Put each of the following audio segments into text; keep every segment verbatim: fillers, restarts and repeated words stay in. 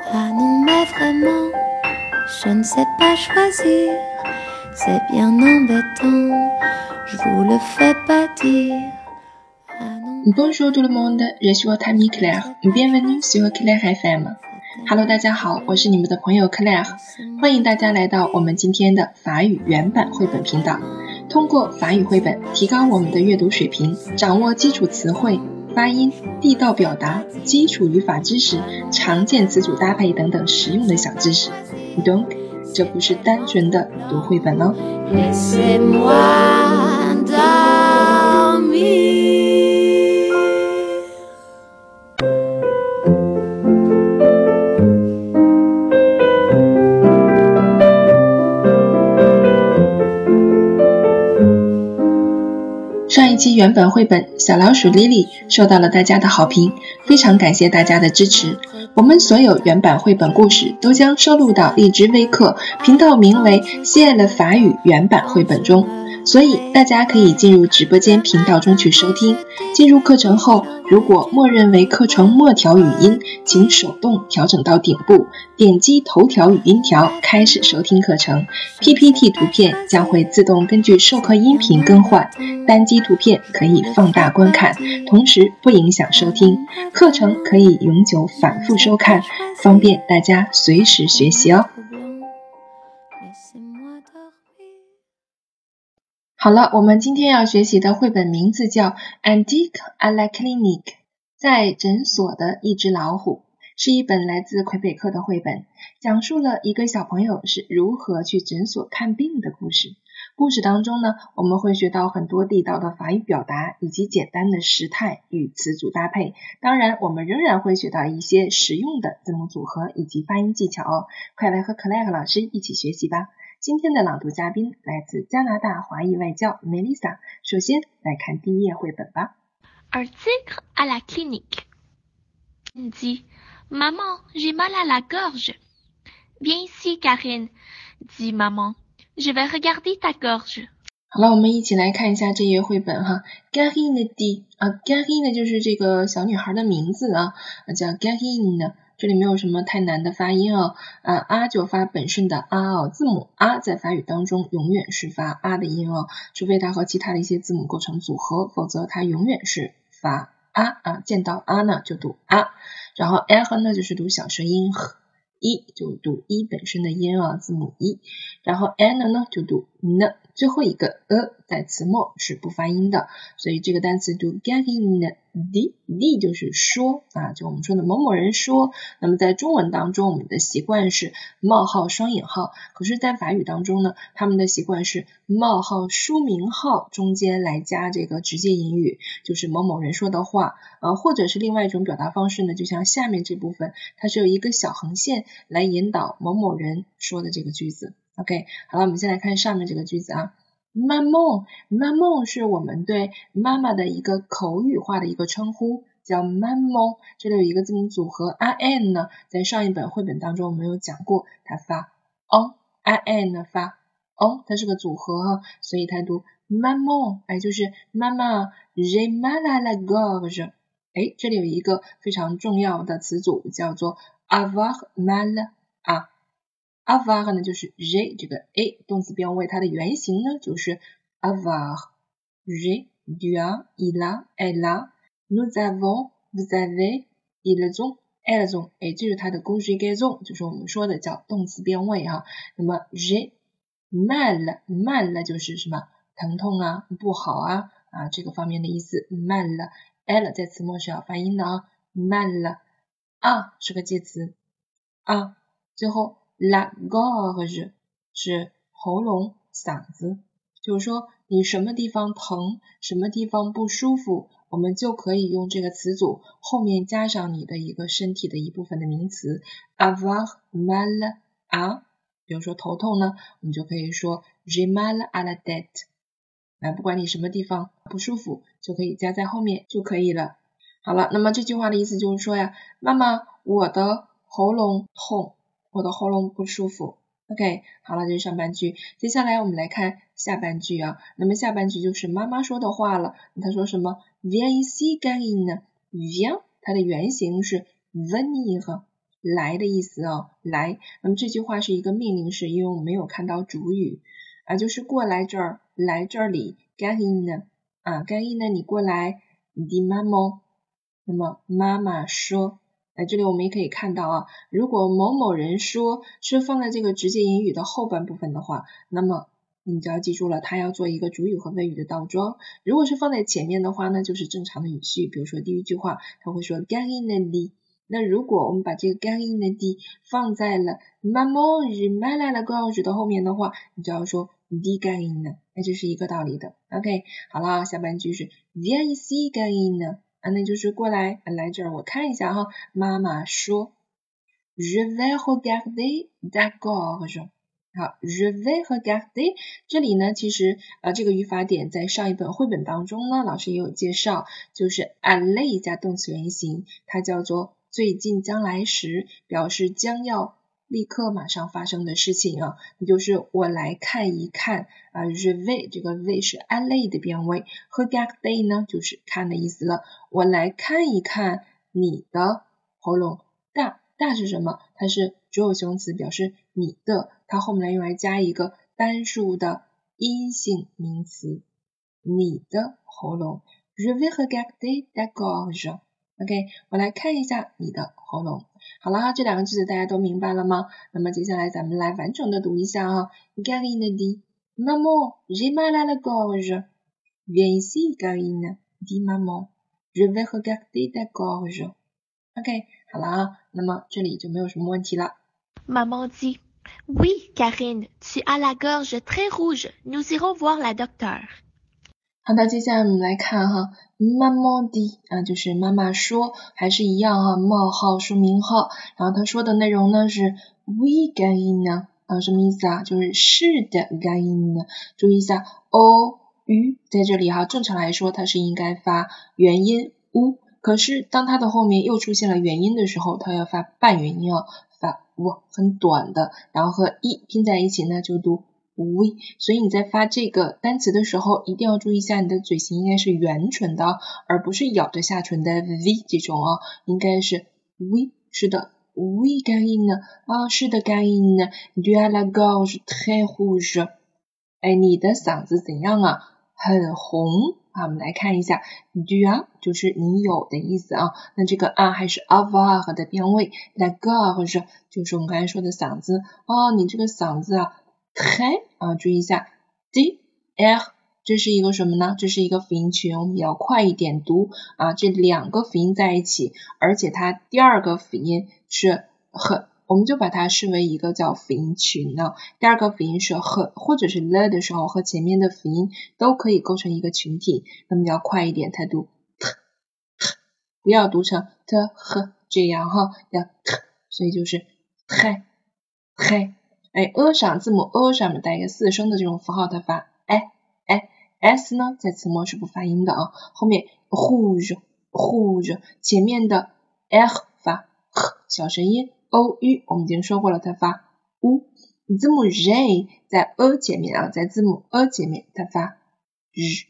Ah non mais vraiment, je ne sais pas choisir, c'est bien embêtant, je vous le fais pas dire. Bonjour tout le monde, je suis votre amie Claire, bienvenue sur Claire F M。Hello， 大家好，我是你们的朋友 Claire， 欢迎大家来到我们今天的法语原版绘本频道。通过法语绘本提高我们的阅读水平，掌握基础词汇、发音、地道表达、基础语法知识、常见词组搭配等等实用的小知识。Donc， 这不是单纯的读绘本哦。上一期原本绘本小老鼠 Lily 受到了大家的好评，非常感谢大家的支持。我们所有原版绘本故事都将收录到荔枝微课频道名为西爱了法语原版绘本中，所以大家可以进入直播间频道中去收听。进入课程后，如果默认为课程末条语音，请手动调整到顶部，点击头条语音条开始收听课程。 P P T 图片将会自动根据授课音频更换，单击图片可以放大观看，同时不影响收听。课程可以永久反复收看，方便大家随时学习哦。好了，我们今天要学习的绘本名字叫 Antique à la clinique， 在诊所的一只老虎，是一本来自魁北克的绘本，讲述了一个小朋友是如何去诊所看病的故事。故事当中呢，我们会学到很多地道的法语表达以及简单的时态与词组搭配，当然我们仍然会学到一些实用的字母组合以及发音技巧哦。快来和 Claire 老师一起学习吧。今天的朗读嘉宾来自加拿大华裔外教 Melissa， 首先来看第一页绘本吧。 Article à la clinique dit Maman, j'ai mal à la gorge. Viens ici, Karine, dit maman. Je vais regarder ta gorge. 好了，我们一起来看一下这页绘本哈。Karine dit 啊 ，Karine 就是这个小女孩的名字啊，叫 Karine。这里没有什么太难的发音哦，啊啊就发本顺的啊哦，字母啊在法语当中永远是发啊的音哦，除非它和其他的一些字母构成组合，否则它永远是发啊啊，见到啊呢就读啊，然后 L 呢就是读小舌音 ，e 就读一本身的音啊，字母一，然后 N 呢就读 n， 最后一个 e 在词末是不发音的，所以这个单词读 Karine dit dit 就是说啊，就我们说的某某人说。那么在中文当中，我们的习惯是冒号双引号，可是在法语当中呢，他们的习惯是冒号书名号中间来加这个直接引语，就是某某人说的话，呃，或者是另外一种表达方式呢，就像下面这部分，它是有一个小横线来引导某某人说的这个句子。OK， 好了，我们先来看上面这个句子啊。Maman Maman 是我们对妈妈的一个口语化的一个称呼，叫 Maman， 这里有一个字母组合 I N 呢，在上一本绘本当中我们有讲过，它发 on， I N 呢发 on， 它是个组合哈，所以它读 Maman， 哎，就是妈妈 j'ai mal à la gorge， 哎，这里有一个非常重要的词组叫做 avoir mal à。avoir 呢就是 j'ai 这个 a 动词变位，它的原型呢就是 avoir j'ai tu as il a elle a nous avons vous avez ils ont elles ont， 哎，这是它的 conjugaison， 就是我们说的叫动词变位哈。那么 j'ai mal mal 就是什么疼痛啊不好啊啊这个方面的意思 mal elle 在词末是要发音的啊 mal 啊是个介词啊，最后La gorge 是喉咙嗓子，就是说你什么地方疼，什么地方不舒服，我们就可以用这个词组后面加上你的一个身体的一部分的名词 avoir mal à， 比如说头痛呢，我们就可以说 j'ai mal à la tête， 啊，不管你什么地方不舒服就可以加在后面就可以了。好了，那么这句话的意思就是说呀，妈妈，我的喉咙痛，我的喉咙不舒服。 OK， 好了，这是上半句。接下来我们来看下半句啊，那么下半句就是妈妈说的话了。她说什么 Viens ici, Karine。 Viens 它的原型是 venir， 来的意思哦，来。那么这句话是一个命令式，因为我们没有看到主语啊，就是过来这儿，来这里 garine 啊 garine 你过来 dit maman 那么妈妈说，哎，这里我们也可以看到啊，如果某某人说是放在这个直接引语的后半部分的话，那么你就要记住了，它要做一个主语和谓语的倒装。如果是放在前面的话呢，就是正常的语序，比如说第一句话，它会说 garine dit。那如果我们把这个 garine dit 放在了 maman je mal à la gorge 的后面的话，你就要说 dit garine， 那这是一个道理的。OK， 好了，下半句是 viens ici garine。啊，那就是过来，来这儿我看一下哈。妈妈说 Je vais regarder ta gorge。好 Je vais regarder 这里呢，其实呃这个语法点在上一本绘本当中呢，老师也有介绍，就是 aller 加动词原形，它叫做最近将来时，表示将要立刻马上发生的事情啊，那就是我来看一看啊 Je vais 这个 vais 是 aller 的变位 regarder 呢就是看的意思了，我来看一看你的喉咙。大大是什么？它是主有形容词，表示你的，它后面来用来加一个单数的阴性名词，你的喉咙。Je vais regarder ta gorge。 OK， 我来看一下你的喉咙。好了，这两个句子大家都明白了吗？那么接下来咱们来完整的读一下哈。Garine dit Maman, j'ai mal à la gorge. Viens ici, Garine, dit Maman. Je vais regarder ta gorge. OK， 好了啊，那么这里就没有什么问题了。 Maman dit Oui, Karine, tu as la gorge très rouge. Nous irons voir la docteur. 好的，接下来我们来看哈 Maman dit 啊，就是妈妈说，还是一样哈，冒号说明号，然后他说的内容呢是 Oui, Karine 啊，什么意思啊？就是是的 Karine， 注意一下 o 语在这里哈，正常来说它是应该发元音 u， 可是当它的后面又出现了元音的时候，它要发半元音哦，发 w 很短的，然后和 e 拼在一起呢就读oui， 所以你在发这个单词的时候，一定要注意一下你的嘴型应该是圆唇的，而不是咬着下唇的 v 这种啊，应该是 oui， 是的 oui Karine 啊，是的 Karine tu as la gorge très rouge， 哎，你的嗓子怎样啊？很红啊，我们来看一下 tu as 就是你有的意思啊，那这个啊还是 avoir 的变位 la gorge 就是我们刚才说的嗓子哦，你这个嗓子啊très 啊，注意一下 d r 这是一个什么呢？这是一个辅音群，我们要快一点读啊，这两个辅音在一起，而且它第二个辅音是和，我们就把它视为一个叫辅音群呢。第二个辅音是和或者是了的时候，和前面的辅音都可以构成一个群体，那么要快一点才读 t t， 不要读成 t h 这样哈，要 t， 所以就是 très très。哎 ，a 上字母 a 上面带一个四声的这种符号，它发哎哎 s 呢，在词末是不发音的啊。后面 rouge rouge 前面的 r 发 h 小声音 o u 我们已经说过了，它发 u。字母 j 在 a 前面啊，在字母 a 前面它发 r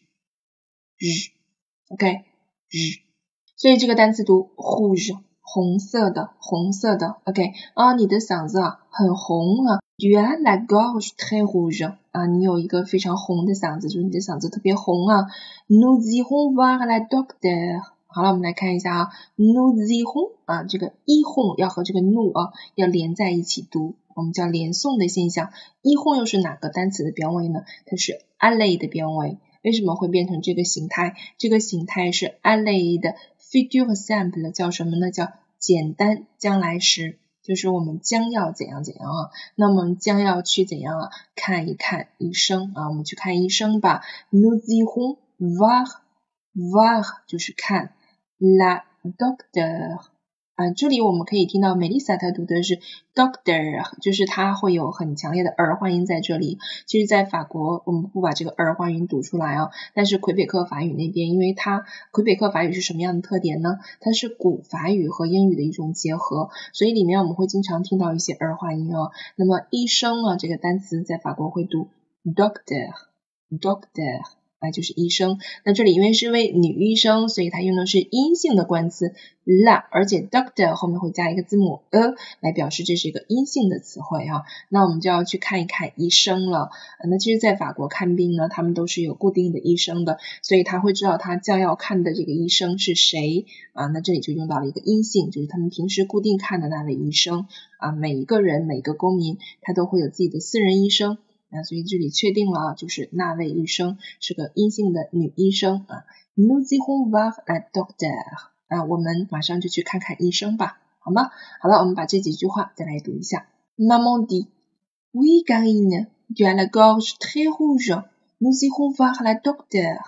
r OK r， 所以这个单词读 rouge 红色的红色的 OK 啊，你的嗓子啊很红啊。Tu as la gorge très rouge 啊，你有一个非常红的嗓子，就是你的嗓子特别红啊。Nous irons voir la docteur。好了，我们来看一下啊 ，nous irons 啊，这个 irons 要和这个 nous 啊要连在一起读，我们叫连诵的现象。irons 又是哪个单词的变位呢？它是 aller 的变位。为什么会变成这个形态？这个形态是 aller 的 futur simple， 叫什么呢？叫简单将来时。就是我们将要怎样怎样啊，那么将要去怎样啊？看一看医生啊，我们去看医生吧。Nous irons voir voir 就是看 la docteur 啊，这里我们可以听到 Melissa 她读的是 doctor， 就是她会有很强烈的儿化音在这里。其实在法国我们不把这个儿化音读出来啊，但是魁北克法语那边，因为它魁北克法语是什么样的特点呢？它是古法语和英语的一种结合，所以里面我们会经常听到一些儿化音哦。那么医生啊这个单词在法国会读 doctor doctor 啊，就是医生。那这里因为是位女医生，所以它用的是阴性的冠词 la， 而且 doctor 后面会加一个字母 e 来表示这是一个阴性的词汇啊。那我们就要去看一看医生了。那其实在法国看病呢，他们都是有固定的医生的，所以他会知道他将要看的这个医生是谁啊。那这里就用到了一个阴性，就是他们平时固定看的那位医生啊。每一个人每个公民他都会有自己的私人医生。那所以这里确定了啊，就是那位医生是个阴性的女医生啊。Nous irons voir la docteur 啊，我们马上就去看看医生吧，好吗？好了，我们把这几句话再来读一下。Maman dit, oui Karine, tu as la gorge très rouge. Nous irons voir la docteur.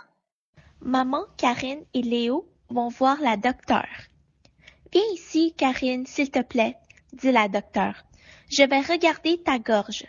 Maman, Karine et Léo vont voir la docteure. Viens ici, Karine, s'il te plaît, dit la docteure. Je vais regarder ta gorge.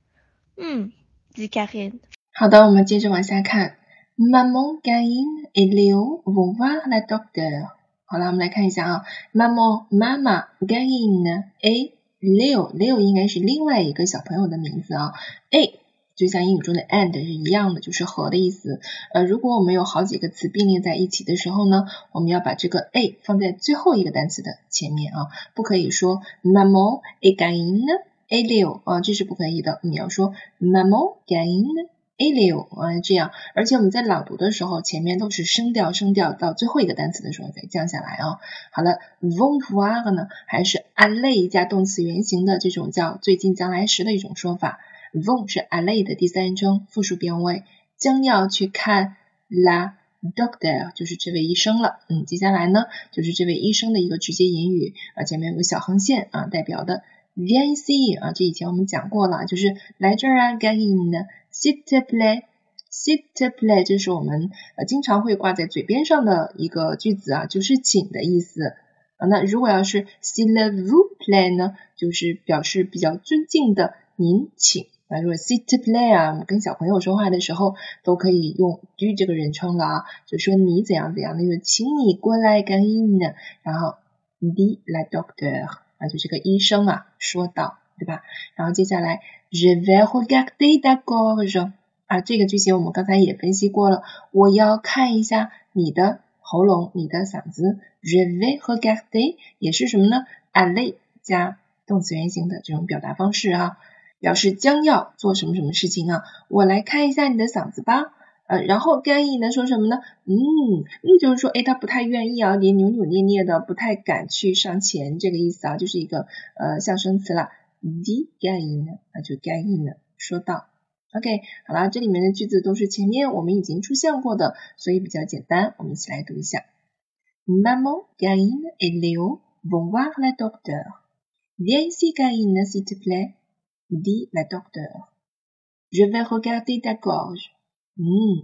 Hmm, dit Karine. 好的，我们接着往下看。Maman, Karine et Léo vont voir la docteure. 好了，我们来看一下啊。Maman 妈妈 Karine et Léo Léo 应该是另外一个小朋友的名字啊。A 就像英语中的 and 是一样的，就是和的意思。呃，如果我们有好几个词并列在一起的时候呢，我们要把这个 A 放在最后一个单词的前面啊，不可以说 Maman et Karine et Léo 啊，这是不可以的。你要说 Maman, Karine et Léo 啊，这样。而且我们在朗读的时候，前面都是升调升调，到最后一个单词的时候再降下来啊。好了 vont voir 呢，还是 aller 加动词原形的这种叫最近将来时的一种说法。vont 是 aller 的第三人称复数变位，将要去看 la docteur 就是这位医生了。嗯，接下来呢就是这位医生的一个直接引语啊，前面有个小横线啊，代表的 viens ici 啊，这以前我们讲过了，就是来这儿啊 Karine s'il te plaît s'il te plaît 这是我们呃经常会挂在嘴边上的一个句子啊，就是请的意思啊。那如果要是 s'il vous plaît 呢，就是表示比较尊敬的您请啊。如果 s'il te plaît 啊，我们跟小朋友说话的时候都可以用 du 这个人称了啊，就说你怎样怎样的，就是请你过来 Karine， 然后 dit la docteur 啊，就这个医生啊说道，对吧？然后接下来 je vais regarder ta gorge 啊，这个句型我们刚才也分析过了，我要看一下你的喉咙，你的嗓子。je vais regarder 也是什么呢 aller 加动词原形的这种表达方式啊，表示将要做什么什么事情啊。我来看一下你的嗓子吧。呃，然后干意呢说什么呢？嗯，嗯，就是说，诶，他不太愿意啊，也扭扭捏捏的，不太敢去上前，这个意思啊，就是一个呃象声词了。dit 干意呢，啊，就干意呢说到。OK， 好了，这里面的句子都是前面我们已经出现过的，所以比较简单，我们一起来读一下。Maman, Karine et Léo vont voir la docteure. Viens ici, Karine, s'il te plaît, dit la docteure. Je vais regarder ta gorge. Hmm,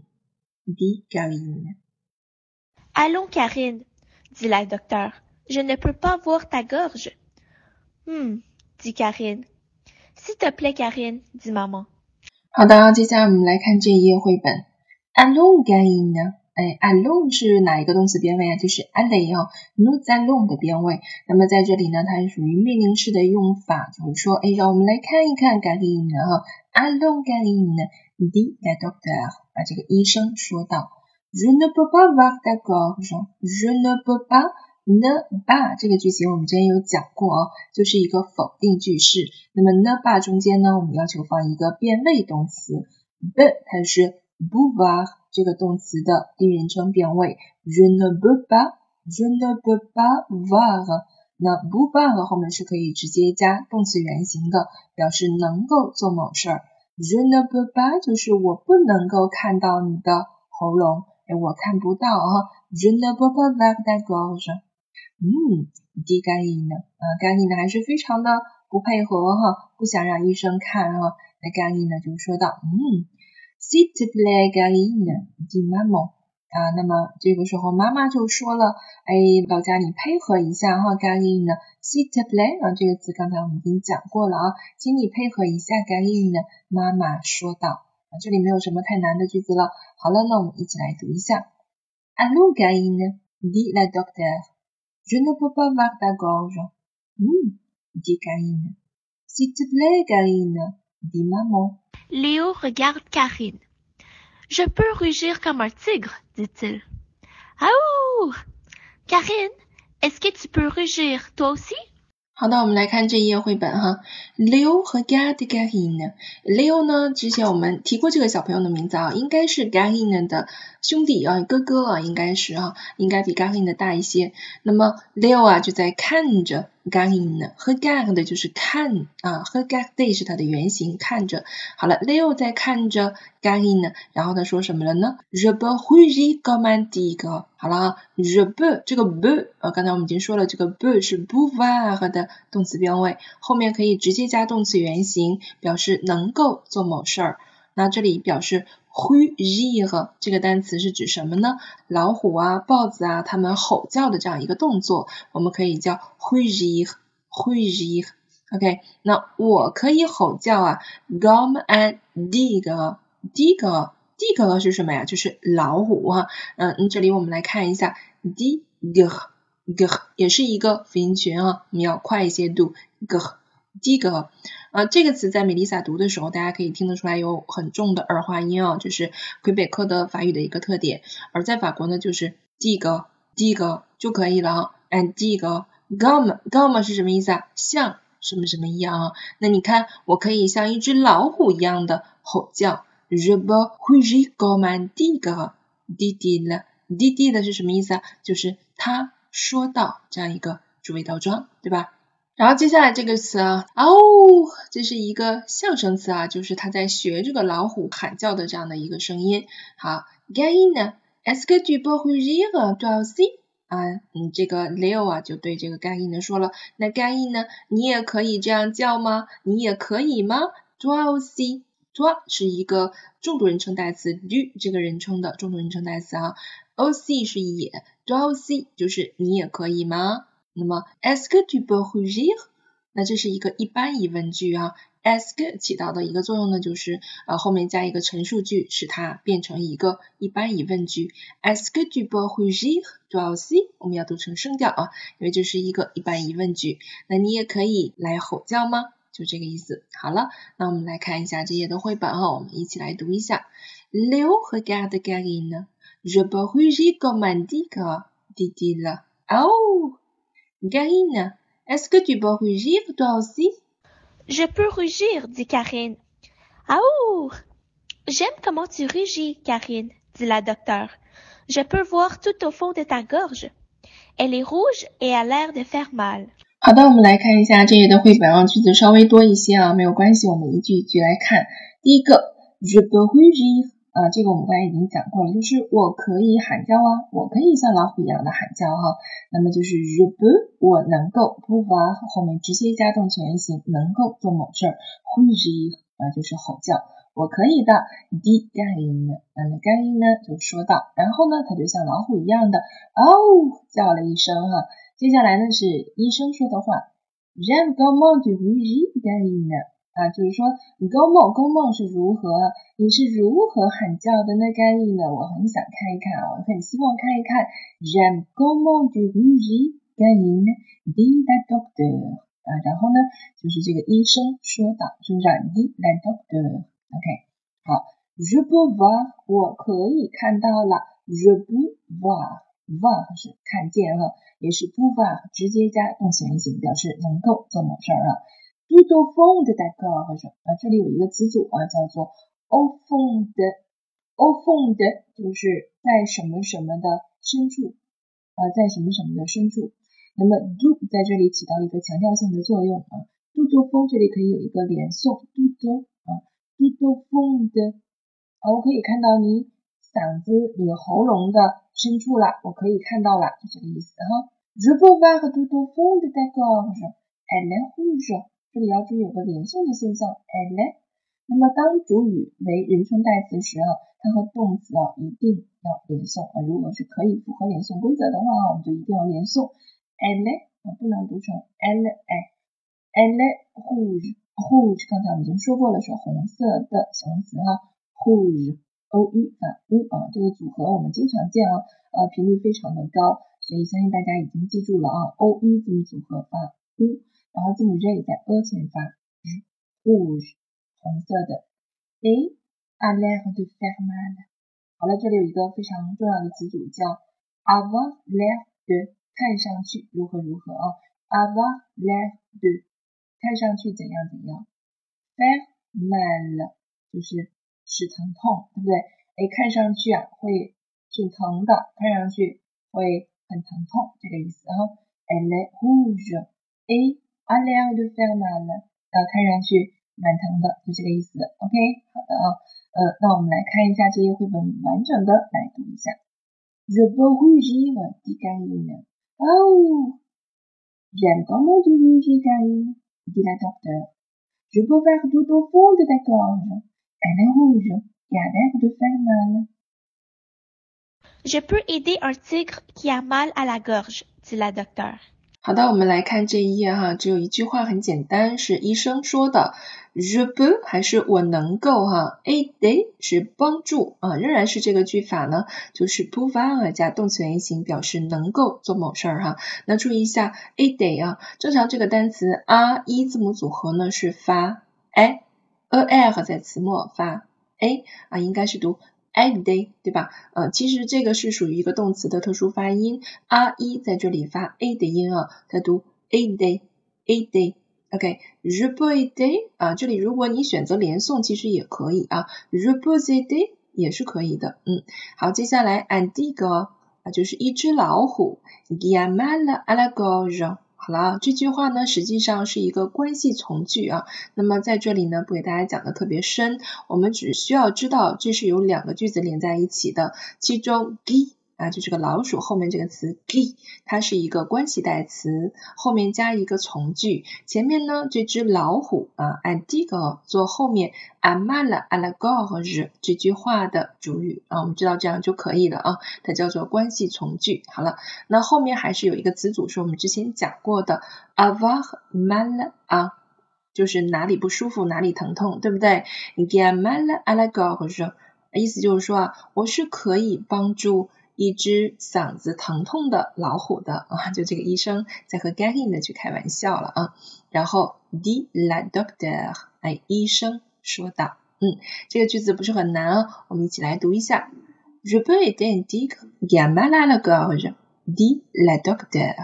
dit Karine. Allons, Karine, dit la docteure. Je ne peux pas voir ta gorge. Hmm, dit Karine. S'il te plaît, Karine, dit maman. 好的，接下来我们来看这一页绘本。Allons, Karine。哎 allons 是哪一个动词变位啊？就是 aller 啊 nous allons 的变位。那么在这里呢，它是属于命令式的用法，就是说，哎，让我们来看一看 Karine 哈 Allons, Karine, dit la docteure 啊，这个医生说道。Je ne peux pas voir ta gorge. Je ne peux pas ne pas 这个句型我们之前有讲过啊，就是一个否定句式。那么 ne pas 中间呢，我们要求放一个变位动词 b 它是 pouvoir 这个动词的第一人称变位 je ne peux pas je ne peux pas voir 那 pouvoir 后面是可以直接加动词原形的，表示能够做某事儿。je ne peux pas 就是我不能够看到你的喉咙，哎，我看不到啊 je ne peux pas voir ta gorge。 嗯 dit Karine 啊 Karine 还是非常的不配合哈，不想让医生看啊。那 Karine 就说道，嗯S'il te plaît, Karine, dit maman 啊，那么这个时候妈妈就说了，哎，老家你配合一下哈 Karine S'il te plaît 啊，这个词刚才我们已经讲过了啊，请你配合一下 Karine 妈妈说道啊，这里没有什么太难的句子了。好了，那我们一起来读一下。Allons, Karine, dit la docteure. Je ne peux pas voir ta gorge. Hmm, dit Karine. S'il te plaît, Karine, dit maman. Léo regarde Karine. Je peux rugir comme un tigre, dit-il. Aouh! Karine, est-ce que tu peux rugir toi aussi？ 好的，我们来看这一页绘本哈。Leo 和 Gad Karine。Leo 呢，之前我们提过这个小朋友的名字啊，应该是 Karine 的兄弟啊，哥哥啊，应该是啊，应该比 Karine 的大一些。那么 Leo 啊就在看着 Karine， 和 Gad 就是看啊，和 Gad 是它的原型，看着。好了 ，Leo 在看着 Karine， 然后他说什么了呢 ？Je peux rugir comme un tigre。好了啊 ，je peux 这个 peux 呃，刚才我们已经说了，这个 peux 是 pouvoir 的动词变位，后面可以直接加动词原形，表示能够做某事儿。那这里表示 rugir 这个单词是指什么呢？老虎啊、豹子啊，它们吼叫的这样一个动作，我们可以叫 rugir。rugir。OK， 那我可以吼叫啊 ，comme un tigre。tigre。tigre 是什么呀？就是老虎哈、啊。嗯，这里我们来看一下 tigre。g 也是一个辅音群啊，我们要快一些读 g tigre。啊，这个词在美丽莎读的时候，大家可以听得出来有很重的儿化音啊，这是魁北克的法语的一个特点。而在法国呢，就是 tigre tigre 就可以了啊。and tigre comme comme 是什么意思啊？像什么什么一样啊？那你看，我可以像一只老虎一样的吼叫 je peux rugir comme un tigre dit-il dit-il 是什么意思啊？就是他说到这样一个主谓倒装，对吧？然后接下来这个词啊，哦，这是一个象声词啊，就是他在学这个老虎喊叫的这样的一个声音。好 Karine, est-ce que tu peux rugir toi aussi？ 啊，嗯，这个 Leo 啊就对这个 Karine 说了，那 Karine 你也可以这样叫吗？你也可以吗 ？toi aussi。toi 是一个重读人称代词 du 这个人称的重读人称代词啊 ，aussi 是也 toi aussi 就是你也可以吗？那么 est-ce que tu peux rugir？ 那这是一个一般疑问句啊 est-ce que 起到的一个作用呢，就是呃后面加一个陈述句，使它变成一个一般疑问句 est-ce que tu peux rugir toi aussi？ 我们要读成声调啊，因为这是一个一般疑问句。那你也可以来吼叫吗？就这个意思。好了，那我们来看一下这页的绘本啊，我们一起来读一下 Léo regarde Karine Je peux rugir comme un tigre dit-il Oh Karine, est-ce que tu peux rugir toi aussi? Je peux rugir, dit Karine. Aouh! J'aime comment tu rugis, Karine, dit la docteure. Je peux voir tout au fond de ta gorge. Elle est rouge et a l'air de faire mal. 好的，我们来看一下这页的绘本啊，句子稍微多一些啊，没有关系，我们一句一句来看。第一个 Je peux rugir 啊，这个我们刚才已经讲过了，就是我可以喊叫啊，我可以像老虎一样的喊叫哈。那么就是 je peux 我能够 pouvoir 后面直接加动词原形，能够做某事儿 rugir 啊就是吼叫，我可以的 dit Karine 那么 Karine 呢就说到，然后呢他就像老虎一样的哦叫了一声哈。接下来呢是医生说的话 J'aime comment tu rugis Karine啊，就是说 comment comment 是如何，你是如何喊叫的呢 Karine 我很想看一看啊，我很希望看一看 J'aime comment tu rugis Karine dit la docteur 啊，然后呢就是这个医生说的，是不是 dit la docteur OK 好 Je peux voir 我可以看到了 Je peux voir voir 是看见哈，也是 pouvoir 直接加动词原形，表示能够做某事儿啊。tout au fond de ta gorge 啊，这里有一个词组啊，叫做 au fond de。au fond de 就是在什么什么的深处啊，在什么什么的深处。那么 do 在这里起到一个强调性的作用啊。tout au fond 这里可以有一个连诵 tout 啊 tout au fond de 啊，我可以看到你嗓子你喉咙的深处了，我可以看到了，就这个意思哈。Je peux voir tout au fond de ta gorge, elle est rouge。这里要注意有个连诵的现象 elle est。那么当主语为人称代词时啊，它和动词啊一定要连诵啊。如果是可以符合连诵规则的话，我们就一定要连诵 elle est 啊，不能读成 elle est elle est rouge rouge 刚才我们已经说过了，是红色的形容词哈 rouge o u 发 u 啊，这个组合我们经常见啊，呃频率非常的高，所以相信大家已经记住了啊 o u 字母组合发 u， 然后字母 z 在 e 前发 rouge 红色的。Et a l'air de faire mal 好了，这里有一个非常重要的词组叫 avoir l'air de， 看上去如何如何啊 avoir l'air de， 看上去怎样怎样 faire mal 就是使疼痛，对不对？哎，看上去啊会挺疼的，看上去会很疼痛，这个意思啊。Elle est rouge et a l'air de faire mal， 啊，看上去蛮疼的，就这个意思。OK， 好的啊，呃，那我们来看一下这页绘本完整的来读一下。Je peux rougir, dit Karine. Oh, j'aime comment tu rougis, Karine, dit la docteur. Je peux faire tout au fond de ta gorge. Elle est rouge et a l'air de faire mal. Je peux aider un tigre qui a mal à la gorge, dit la docteur. 好的，我们来看这一页哈，只有一句话很简单，是医生说的 Je peux 还是我能够哈 aider 是帮助啊，仍然是这个句法呢，就是 pouvoir 加动词原形表示能够做某事儿哈。那注意一下 aider 啊，正常这个单词 r 一字母组合呢是发 a a r 在词末发 a 啊，应该是读aider 对吧？呃，其实这个是属于一个动词的特殊发音 ，r 一在这里发 a 的音啊，它读 aider aider。OK，je peux aider 啊，这里如果你选择连诵，其实也可以啊 ，je peux aider 也是可以的。嗯，好，接下来 un tigre 啊，就是一只老虎 qui a mal à la gorge。好了，这句话呢实际上是一个关系从句啊，那么在这里呢不给大家讲的特别深，我们只需要知道这是有两个句子连在一起的，其中 qui 啊就是个老鼠后面这个词 qui 它是一个关系代词，后面加一个从句，前面呢这只老虎啊 un tigre 做后面 a mal à la gorge 这句话的主语啊，我们知道这样就可以了啊，它叫做关系从句。好了，那后面还是有一个词组是我们之前讲过的 avoir mal à， 就是哪里不舒服哪里疼痛，对不对？ qui a mal à la gorge 意思就是说啊，我是可以帮助一只嗓子疼痛的老虎的啊，就这个医生在和 Karine 的去开玩笑了啊。然后 dit la docteur， 哎，医生说道，嗯，这个句子不是很难啊，我们一起来读一下。Je peux aider un tigre qui a mal à la gorge, dit la docteur.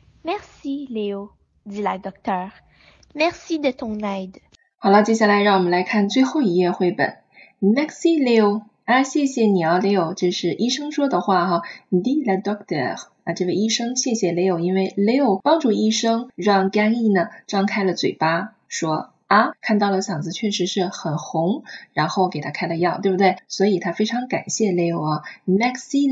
Merci, Léo, dit la docteur. Merci de ton aide. 好了，接下来让我们来看最后一页绘本。Merci, Léo。啊，谢谢你啊 ，Leo， 这是医生说的话哈 ，dit la docteur， 啊，这位医生谢谢 Leo， 因为 Leo 帮助医生让 Karine 呢张开了嘴巴，说啊，看到了嗓子确实是很红，然后给他开了药，对不对？所以他非常感谢 Leo 啊 ，Merci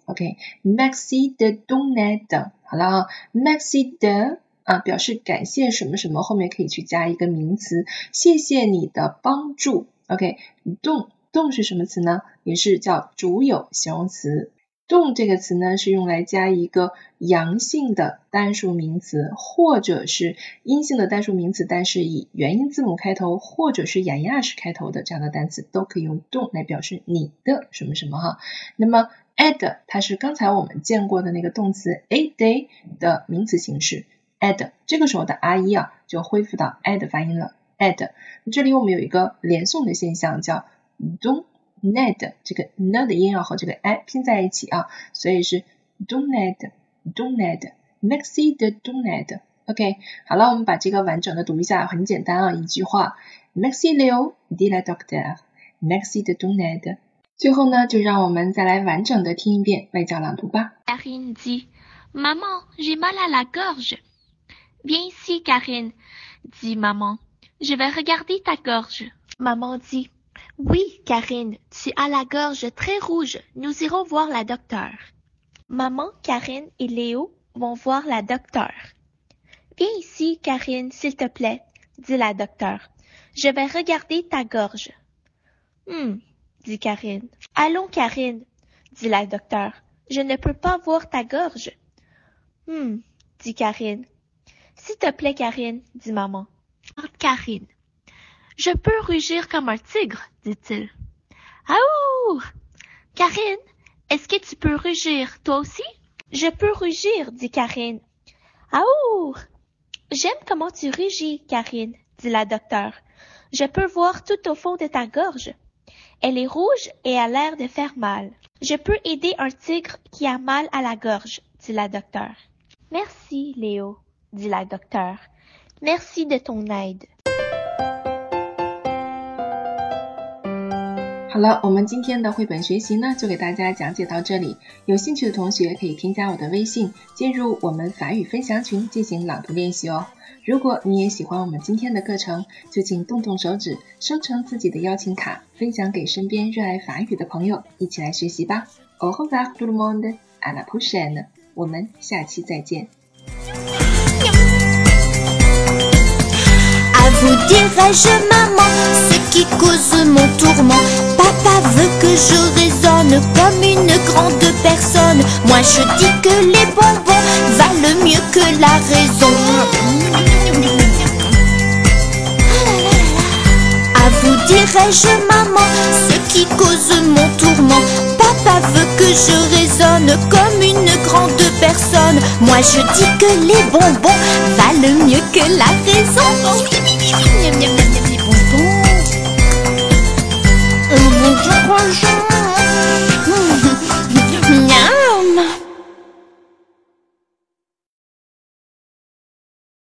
Leo，OK，Merci de ton aide， 好了啊 ，Merci de 啊表示感谢什么什么，后面可以去加一个名词，谢谢你的帮助 ，OK，don。动是什么词呢？也是叫主有形容词。动这个词呢是用来加一个阳性的单数名词，或者是阴性的单数名词，但是以元音字母开头，或者是雅亚式开头的这样的单词，都可以用动来表示你的什么什么哈。那么 aid 它是刚才我们见过的那个动词 aider 的名词形式 aid， 这个时候的 r 一啊就恢复到 aid 发音了 aid。这里我们有一个连诵的现象叫don aide， 这个 n 的音要和这个 i 拼在一起啊，所以是 don aide don aide Merci de ton aide。 OK， 好了，我们把这个完整的读一下，很简单啊，一句话 Merci Léo dit la docteur Merci de ton aide。 最后呢，就让我们再来完整的听一遍外教朗读吧。 Karine dit Maman, j'ai mal à la gorge. Viens ici, Karine, dit maman. Je vais regarder ta gorge. Maman dit Oui, Karine, tu as la gorge très rouge. Nous irons voir la docteur. Maman, Karine et Léo vont voir la docteur. Viens ici, Karine, s'il te plaît, dit la docteur. Je vais regarder ta gorge. Hum, dit Karine. Allons, Karine, dit la docteur. Je ne peux pas voir ta gorge. Hum, dit Karine. S'il te plaît, Karine, dit maman. Karine. Je peux rugir comme un tigre, dit-il. Aouh! Karine, est-ce que tu peux rugir, toi aussi? Je peux rugir, dit Karine. Aouh! J'aime comment tu rugis, Karine, dit la docteur. Je peux voir tout au fond de ta gorge. Elle est rouge et a l'air de faire mal. Je peux aider un tigre qui a mal à la gorge, dit la docteure. Merci, Léo, dit la docteure. Merci de ton aide. 好了，我们今天的绘本学习呢，就给大家讲解到这里。有兴趣的同学可以添加我的微信，进入我们法语分享群进行朗读练习哦。如果你也喜欢我们今天的课程，就请动动手指，生成自己的邀请卡，分享给身边热爱法语的朋友，一起来学习吧。Au revoir tout le monde, à la prochaine， 我们下期再见。 À vous dirai-je maman, ce qui cause mon tourment. Papa veut que je raisonne comme une grande personne. Moi je dis que les bonbons valent mieux que la raison. À vous dirai-je maman, ce qui cause mon tourment. Papa veut que je raisonne comme une grande personne. Moi je dis que les bonbons valent mieux que la raison.